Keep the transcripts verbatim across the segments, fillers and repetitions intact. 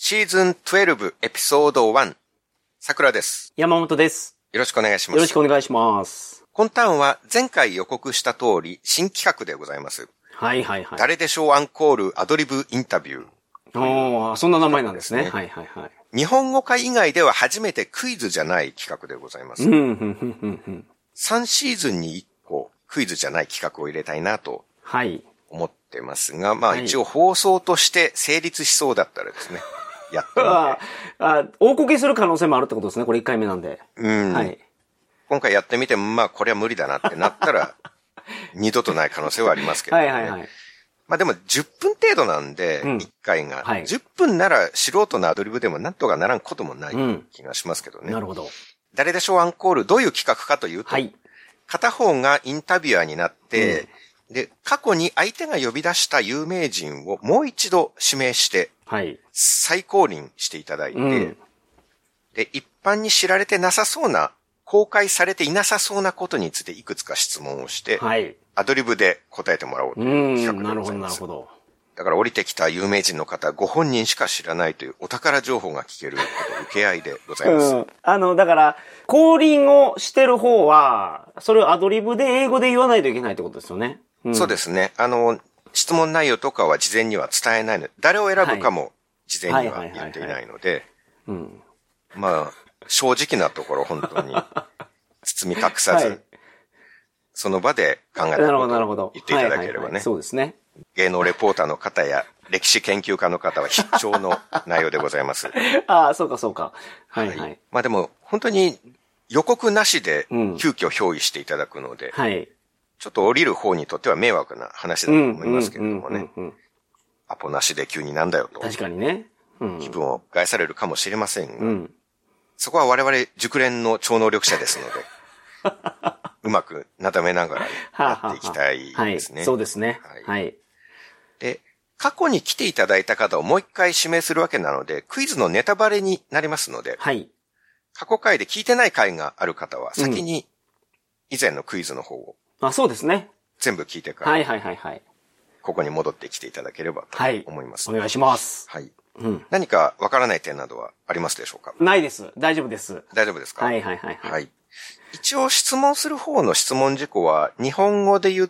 シーズンじゅうにエピソードいち、桜です。 山本です。 よろしくお願いします。 よろしくお願いします。 今ターンは前回予告した通り新企画でございます。 はいはいはい。 誰でしょうアンコールアドリブインタビュー。 おー、そんな名前なんですね。はいはいはい。 日本語化以外では初めてクイズじゃない企画でございます。 うん、うん、うん、うん。 さんシーズンにいっこクイズじゃない企画を入れたいなと。はい。思ってますが、まあ一応放送として成立しそうだったらですね。やってみて。 ああ、大こけする可能性もあるってことですね。これいっかいめなんで。 うん。はい。今回やってみて、まあこれは無理だなってなったら、二度とない可能性はありますけどね。はいはいはい。まあでもじゅっぷん程度なんで、いっかいが、はい。じゅっぷんなら素人のアドリブでもなんとかならんこともない気がしますけどね。うん、なるほど。誰でしょうアンコール、どういう企画かというと、はい。片方がインタビュアーになって、うん、で、過去に相手が呼び出した有名人をもう一度指名して、はい。再降臨していただいて、うん、で、一般に知られてなさそうな、公開されていなさそうなことについていくつか質問をして、はい。アドリブで答えてもらおうという企画でございます。なるほど、なるほど。だから降りてきた有名人の方、ご本人しか知らないというお宝情報が聞けること受け合いでございます。うん、 あの、だから、降臨をしてる方は、それをアドリブで英語で言わないといけないってことですよね。 うん、そうですね。あの、質問内容とかは事前には伝えないので、誰を選ぶかも事前には言っていないので、まあ、正直なところ本当に包み隠さず、はい、その場で考えたことを言っていただければね。 そうですね。 芸能レポーターの方や歴史研究家の方は必聴の内容でございます。 ああ、そうかそうか。はいはい。はい、 まあでも本当に予告なしで急遽憑依していただくので、うん、はい。ちょっと降りる方にとっては迷惑な話だと思いますけれどもね。アポなしで急になんだよと。 確かにね。 うん、気分を害されるかもしれませんが、うん、そこは我々熟練の超能力者ですので、うまくなだめながらやっていきたいですね。 はい、そうですね。はい。はい、 で、過去に来ていただいた方をもう一回指名するわけなので、クイズのネタバレになりますので、はい、過去回で聞いてない回がある方は先に以前のクイズの方を、 うん、あ、そうですね。 全部聞いてから、はいはいはいはい。ここに戻ってきていただければと思います。 はい、お願いします。 はい。うん、何かわからない点などはありますでしょうか？ ないです。大丈夫です。 大丈夫ですか？ はいはいはい、はい。はい。 一応質問する方の質問事項は日本語で言って、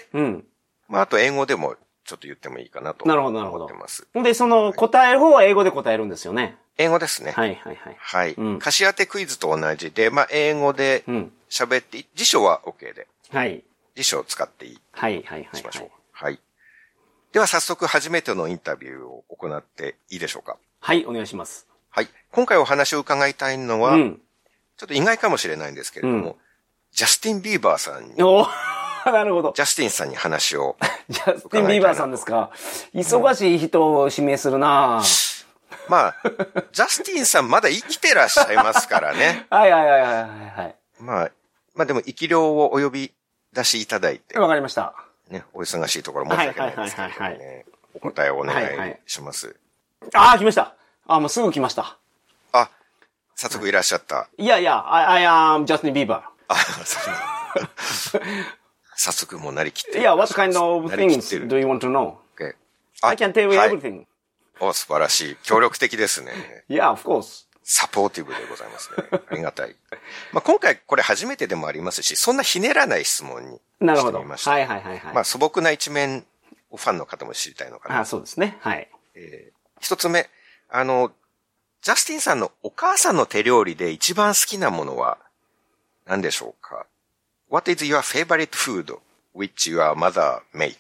うん。まあ、あと英語でもちょっと言ってもいいかなと思ってます。なるほどなるほど。 で、その答える方は英語で答えるんですよね。 英語ですね。 はいはいはい。 はい。うん、歌詞当てクイズと同じで、まあ、英語で喋って、うん、辞書は OK で。はい。辞書を使っていい。はいはいはい。しましょう。はい。では早速初めてのインタビューを行っていいでしょうか？ はい、お願いします。 はい。今回お話を伺いたいのは、うん、ちょっと意外かもしれないんですけれども、うん、ジャスティン・ビーバーさんに。 おなるほど。 ジャスティンさんに話を。 ジャスティン・ビーバーさんですか。忙しい人を指名するなぁ。 まあ、ジャスティンさんまだ生きてらっしゃいますからね。 はいはいはいはいはい。 まあ、まあでも生き量をお呼び出しいただいて。 わかりました。 ね、お忙しいところ申し訳ないですけどね。はいはいはいはい、お答えをお願いします。はいはい、ああ、来ました。あ、もうすぐ来ました。 あ、早速いらっしゃった。 いやいや、I, I am Justin Bieber. あ、そう早速もうなりきって。 いや、what kind of things do you want to know?、Okay. I can tell you everything.、 はい、お、素晴らしい。協力的ですね。 Yeah, of course. サポーティブでございますね。ありがたい。まあ今回これ初めてでもありますし、そんなひねらない質問にしてみました。なるほど。はいはいはいはい。まあ素朴な一面をファンの方も知りたいのかな。 あ、そうですね。はい。 えー、一つ目、あの、ジャスティンさんのお母さんの手料理で一番好きなものは何でしょうか？ What is your favorite food which your mother make?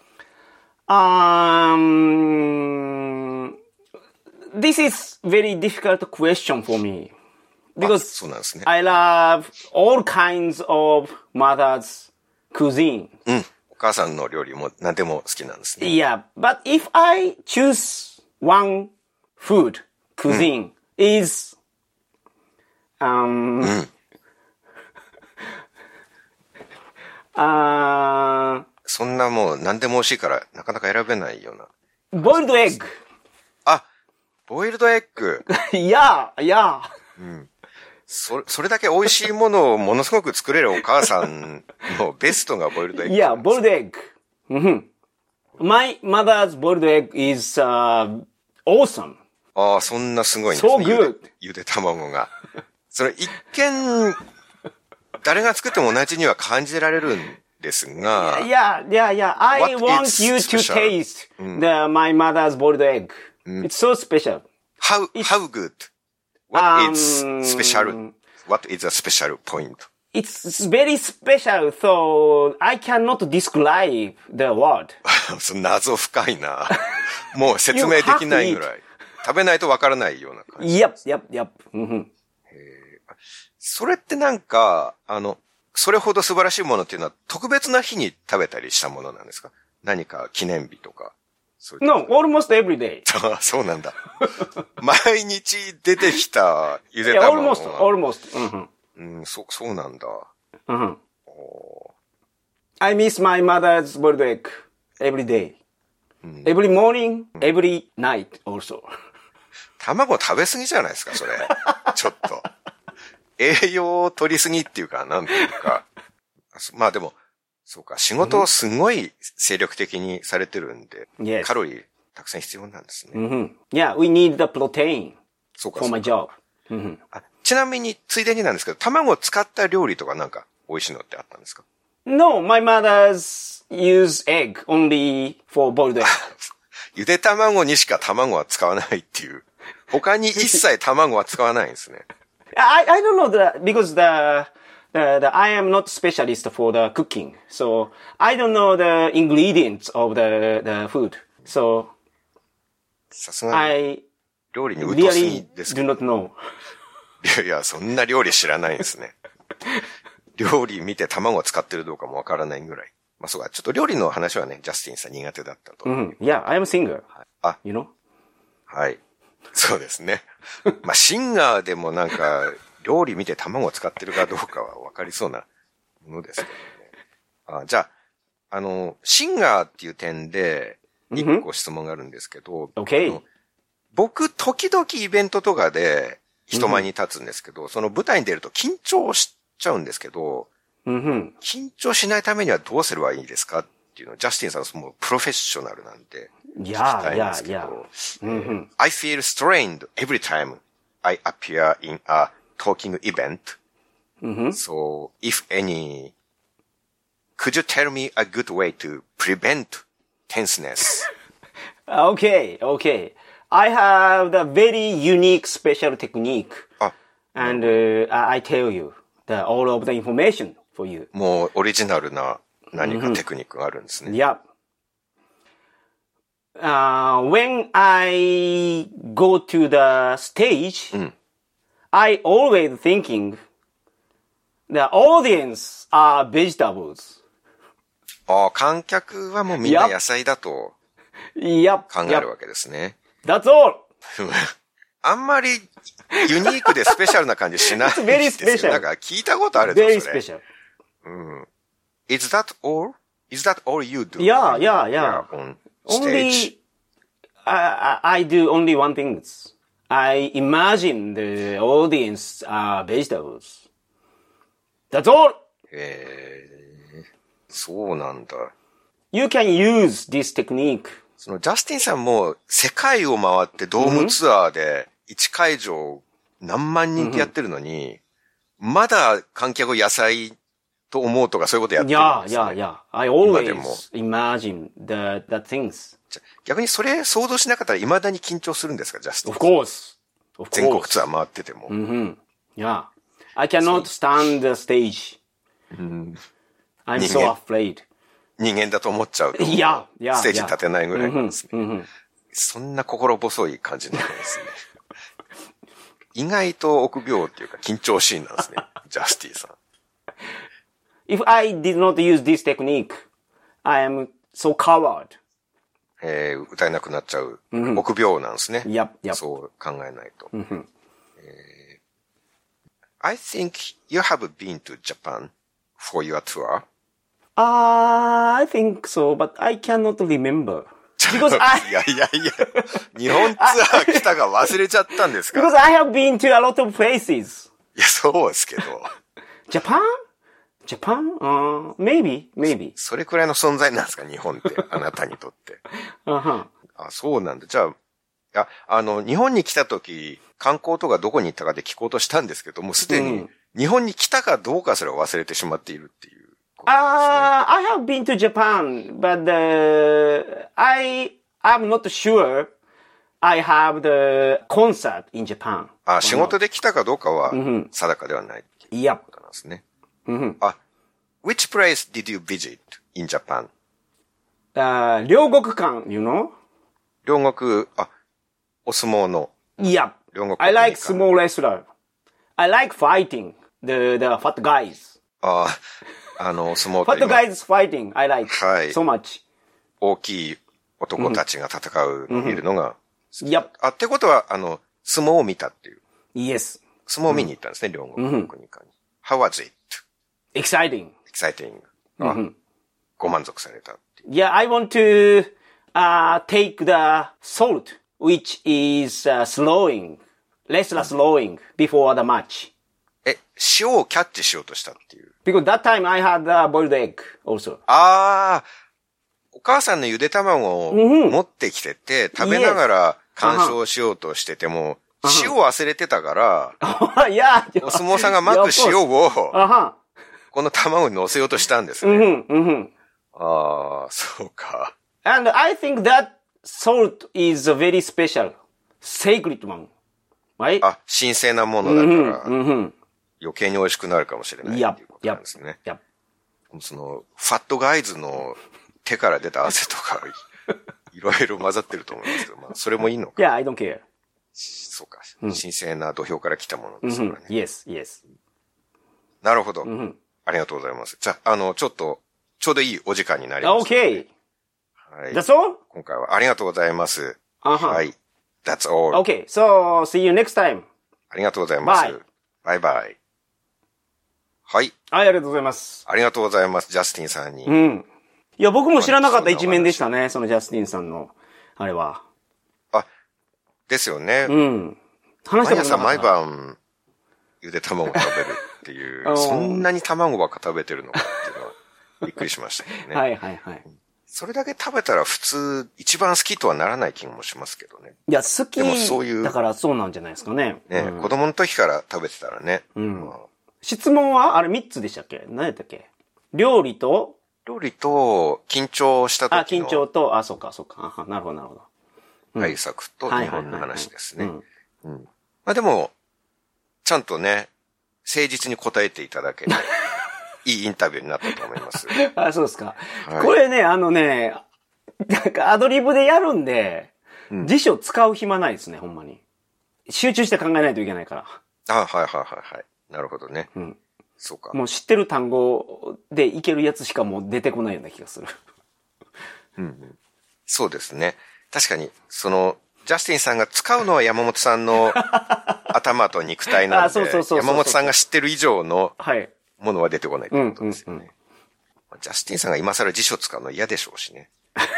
Um,This is very difficult question for me because そうなんですね。 I love all kinds of mother's cuisine. うん。お母さんの料理も何でも好きなんですね。 Yeah, but if I choose one food cuisine、うん、is um、うん、 uh, そんなもう何でも美味しいからなかなか選べないような。 ボイルドエッグ。 ボイルドエッグ。 いや、いや。 うん。そ、それだけ美味しいものをものすごく作れるお母さんのベストがボイルドエッグ。 いや、ボイルドエッグ。うん。My mother's boiled egg is、uh, awesome. ああ、そんなすごいんですね。 So good! ゆで卵が。それ一見、誰が作っても同じには感じられるんですが。 Yeah, yeah, yeah. I want you to taste the, my mother's boiled egg. It's so special. How, how good? What is special? What is a special point? It's very special, so I cannot describe the word. 謎深いな。もう説明できないぐらい。食べないとわからないような感じ。 Yep, yep, yep. それってなんか、あの、それほど素晴らしいものっていうのは特別な日に食べたりしたものなんですか？何か記念日とか。 No, almost every day. そうなんだ。毎日出てきたゆで卵が。 Yeah, almost, almost. うん、そ、そうなんだ。 Mm-hmm. I miss my mother's boiled egg every day. Every morning, every night also. 卵食べ過ぎじゃないですか、それ。ちょっと。栄養を取りすぎっていうか、なんていうか。まあでも、そうか、仕事をすごい精力的にされてるんで、 yes. カロリーたくさん必要なんですね。 Mm-hmm. Yeah, we need the protein そうか for my job. Mm-hmm. あ、ちなみに、ついでになんですけど、卵を使った料理とかなんか美味しいのってあったんですか？ No, my mother's use egg only for boiled egg. ゆで卵にしか卵は使わないっていう。他に一切卵は使わないんですね。 I, I don't know the, because the, the, the, I am not specialist for the cooking. So, I don't know the ingredients of the, the food. So, さすがに料理に疎すぎですけど。 I really do not know. いやいや、そんな料理知らないんですね。料理見て卵を使ってるどうかもわからないぐらい。まあそうか、ちょっと料理の話はね、ジャスティンさん苦手だったと。 Mm-hmm. Yeah, I am a singer. あ、 you know? はい。そうですね。まあシンガーでもなんか、料理見て卵を使ってるかどうかはわかりそうなものですけどね。あ、じゃあ、あの、シンガーっていう点で、一個質問があるんですけど、 Okay. 僕、時々イベントとかで人前に立つんですけど、mm-hmm. その舞台に出ると緊張しちゃうんですけど、 mm-hmm. 緊張しないためにはどうすればいいですかっていうのを、ジャスティンさんはもうプロフェッショナルなんで、聞きたいんですけど、 yeah, yeah, yeah. I feel strained every time I appear in a talking event. Mm-hmm. So, if any, could you tell me a good way to prevent tenseness? Okay, okay. I have the very unique special technique. Ah. And uh, I tell you the, all of the information for you. もうオリジナルな何かテクニックがあるんですね。 Mm-hmm. Yep.Uh, when I go to the stage, mm. I always thinking the audience are vegetables. ああ、観客はもうみんな野菜だと Yep. 考えるわけですね。 That's all. あんまりユニークでスペシャルな感じしないですよ。 very special. なんか聞いたことあるぞ、それ。 Very special. うん。Is that all? Is that all you do? Yeah, yeah, yeah. On Only, I, I do only one thing. I imagine the audience are vegetables. That's all! へー、そうなんだ。 You can use this technique. そのジャスティンさんも世界を回ってドームツアーでいち会場何万人ってやってるのに、mm-hmm. まだ観客を野菜と思うとかそういうことやってるんですね。 Yeah, yeah, yeah. I always imagine the, the things. 逆にそれ想像しなかったら未だに緊張するんですか、ジャスティン。 Of course. Of course. 全国ツアー回ってても。 Mm-hmm. Yeah. I cannot stand the stage. Mm-hmm. I'm so afraid. 人間だと思っちゃうと。 Yeah, yeah, ステージ立てないぐらいなんですね。 Mm-hmm. Mm-hmm. そんな心細い感じなんですね。意外と臆病っていうか緊張シーンなんですね。ジャスティンさん。 If I did not use this technique, I am so coward. えー、歌えなくなっちゃう。Mm-hmm. 臆病なんですね。 Yep, yep. そう考えないと。 Mm-hmm. えー、I think you have been to Japan for your tour. Uh, I think so, but I cannot remember. Because I... いやいやいや、日本ツアー来たが忘れちゃったんですか？ Because I have been to a lot of places. いや、そうですけど。 Japan?Japan? Uh, maybe, maybe. それくらいの存在なんですか、日本って。あなたにとって。 Uh-huh. あ、そうなんだ。じゃあ、 や、あの、日本に来た時、観光とかどこに行ったかで聞こうとしたんですけど、もうすでに日本に来たかどうかすら忘れてしまっているっていう、ね。 ああ、I have been to Japan, but uh, I, I'm not sure I have the concert in Japan. あ、仕事で来たかどうかは定かではないっていうことなんですね。 Mm-hmm. あ、which place did you visit in Japan? あ、両国館、you know? 両国、あ、お相撲の。 Yeah. I like small wrestler. I like fighting the, the fat guys. ああ、あの、相撲と fat guys fighting. I like はい so much. 大きい男たちが戦うのを見るのが好き。 Yep. あ、ってことは、あの、相撲を見たっていう。 Yes. 相撲を見に行ったんですね、両国の国家に。How was it? Exciting. Exciting. あ、ご満足されたっていう。 Yeah, I want to uh, take the salt, which is uh, slowing, wrestler slowing before the match. え、塩をキャッチしようとしたっていう。 Because that time I had a boiled egg also. ああ、お母さんのゆで卵を持ってきてて、食べながら干渉しようとしてても、塩を忘れてたから、 yeah, お相撲さんが巻く塩を、この卵に乗せようとしたんですね。 Mm-hmm, mm-hmm. ああ、そうか。 And I think that salt is a very special, sacred one. Right? あ、神聖なものだから、 mm-hmm, mm-hmm. 余計に美味しくなるかもしれないっていうことなんですね。 Yep, yep. その、ファットガイズの手から出た汗とか、いろいろ混ざってると思いますけど、まあ、それもいいのか。 Yeah, I don't care. そうか。神聖な土俵から来たものですからね。 Mm-hmm. Yes, yes. なるほど。 Mm-hmm. ありがとうございます。じゃあ、あの、ちょっと、ちょうどいいお時間になりました、ね。 Okay. はい。 That's all? 今回はありがとうございます。 Uh-huh. はい。That's all. Okay, so see you next time. ありがとうございます。 Bye. バイバイ。はい。 はい、ありがとうございます。 ありがとうございます。ジャスティンさんに。 うん。いや、僕も知らなかった一面でしたね。そのジャスティンさんの、あれは。 あ、ですよね。 うん。話したことなかった。 毎朝毎晩、ゆで卵を食べるっていう、そんなに卵ばっか食べてるのかっていうのは、びっくりしましたけどね。 はいはいはい。 それだけ食べたら普通、一番好きとはならない気もしますけどね。 いや、好き。 でもそういう。 だからそうなんじゃないですかね。 ね、うん、子供の時から食べてたらね。 うん。まあ、質問はあれみっつでしたっけ？何やったっけ？料理と料理と、緊張した時の。 あ、緊張と、あ、そうかそうか。あ、なるほどなるほど。 対策と日本の話ですね。まあでも、ちゃんとね、誠実に答えていただけて、いいインタビューになったと思います。 あ、そうですか。はい、これね、あのね、なんかアドリブでやるんで、うん、辞書使う暇ないですね、ほんまに。集中して考えないといけないから。 あ、はいはいはいはい。なるほどね。 うん。 そうか。 もう知ってる単語でいけるやつしかもう出てこないような気がする。 うん、うん。そうですね。確かに、その、ジャスティンさんが使うのは山本さんの頭と肉体なんで、 あ、そうそうそうそうそう、 山本さんが知ってる以上のものは出てこないってことですよね。うんうんうん、ジャスティンさんが今更辞書使うの嫌でしょうしね。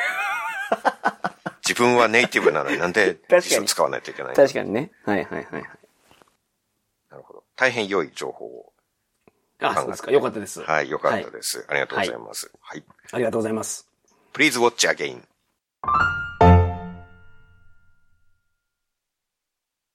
自分はネイティブなのになんで辞書使わないといけないの？ 確かにね。はいはいはいはい。 なるほど。大変良い情報を。 あ、そうですか。よかったです。 はい、よかったです。はい、ありがとうございます。はい。 ありがとうございます。 Please watch again.